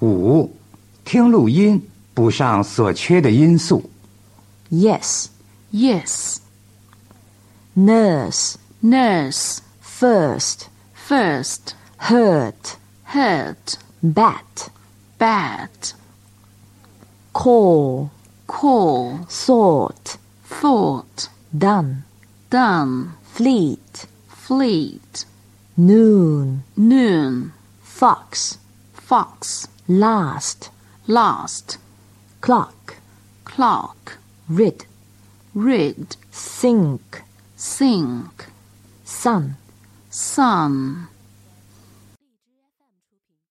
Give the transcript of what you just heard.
5. 听录音，补上所缺的因素。 Yes. Yes. Nurse. Nurse. First. First. Hurt. Hurt. Bat. Bat. Call. Call. Thought. Thought. Done. Done. Fleet. Fleet. Noon. Noon. Fox. Fox. Last. Last. Clock. Clock. Rid. Rid. Sink. Sink. Sun. Sun.